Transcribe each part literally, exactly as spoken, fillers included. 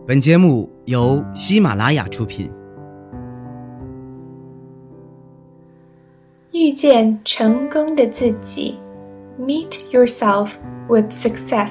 本节目由喜马拉雅出品。 遇见成功的自己 Meet yourself with success.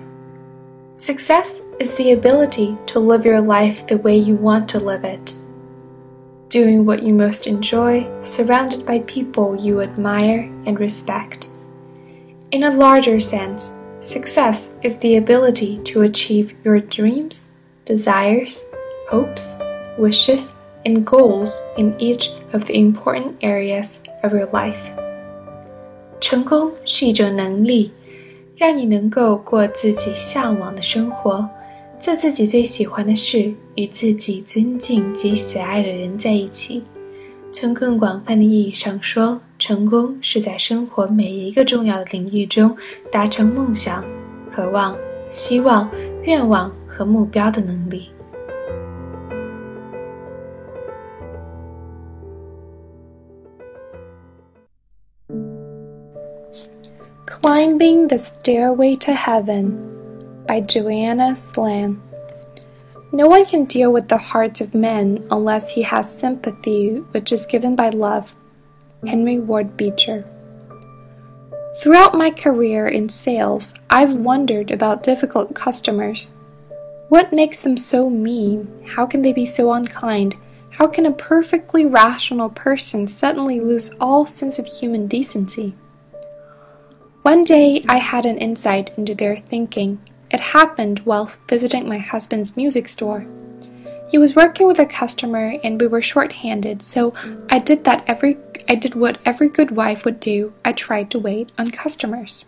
Success is the ability to live your life the way you want to live it. Doing what you most enjoy, surrounded by people you admire and respect. In a larger sense, success is the ability to achieve your dreams, desires, hopes, wishes, and goals in each of the important areas of your life. 成功是一种能力，让你能够过自己向往的生活，做自己最喜欢的事，与自己尊敬及喜爱的人在一起。从更广泛的意义上说，成功是在生活每一个重要的领域中达成梦想、渴望、希望、愿望和目标的能力。Climbing the Stairway to Heaven by Joanna Slam. No one can deal with the hearts of men unless he has sympathy, which is given by love. Henry Ward Beecher. Throughout my career in sales, I've wondered about difficult customers. What makes them so mean? How can they be so unkind? How can a perfectly rational person suddenly lose all sense of human decency? One day I had an insight into their thinking. It happened while visiting my husband's music store. He was working with a customer and we were short-handed, so I did that every I did what every good wife would do. I tried to wait on customers.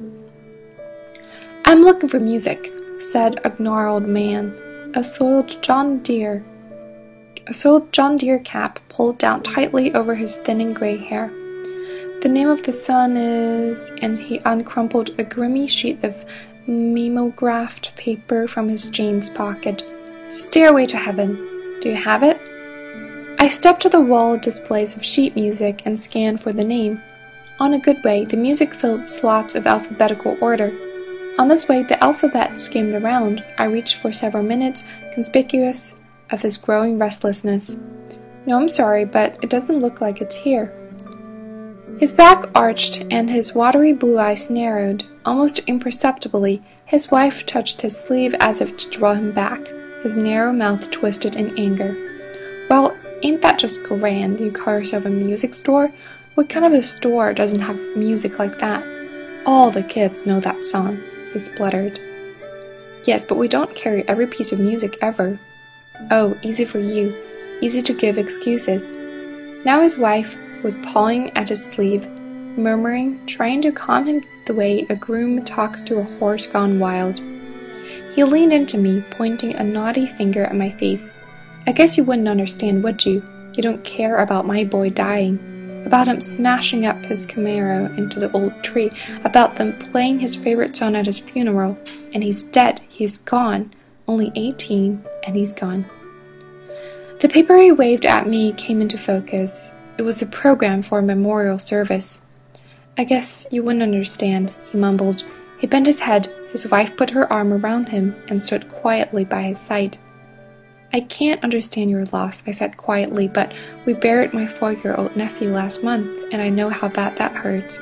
"I'm looking for music," said a gnarled man, a soiled John Deere, a soiled John Deere cap pulled down tightly over his thinning gray hair. "The name of the son is," and he uncrumpled a grimy sheet of mimeographed paper from his jeans pocket. "Stairway to Heaven. Do you have it?" I stepped to the wall displays of sheet music and scanned for the name. On a good way, the music filled slots of alphabetical order. On this way, the alphabet skimmed around. I reached for several minutes, conspicuous of his growing restlessness. "No, I'm sorry, but it doesn't look like it's here." His back arched and his watery blue eyes narrowed. Almost imperceptibly, his wife touched his sleeve as if to draw him back. His narrow mouth twisted in anger. "Well, ain't that just grand? You call yourself a music store? What kind of a store doesn't have music like that? All the kids know that song," he spluttered. "Yes, but we don't carry every piece of music ever." "Oh, easy for you. Easy to give excuses." Now his wife was pawing at his sleeve, murmuring, trying to calm him the way a groom talks to a horse gone wild. He leaned into me, pointing a naughty finger at my face. "I guess you wouldn't understand, would you? You don't care about my boy dying, about him smashing up his Camaro into the old tree, about them playing his favorite song at his funeral, and he's dead, he's gone, only eighteen, and he's gone." The paper he waved at me came into focus. It was the program for a memorial service. "I guess you wouldn't understand," he mumbled. He bent his head. His wife put her arm around him and stood quietly by his side. "I can't understand your loss," I said quietly, "but we buried my four-year-old nephew last month, and I know how bad that hurts."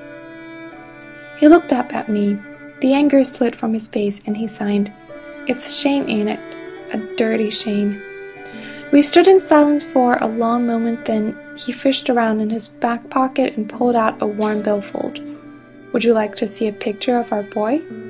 He looked up at me. The anger slid from his face, and he sighed. "It's a shame, ain't it? A dirty shame." We stood in silence for a long moment, then he fished around in his back pocket and pulled out a worn billfold. "Would you like to see a picture of our boy?"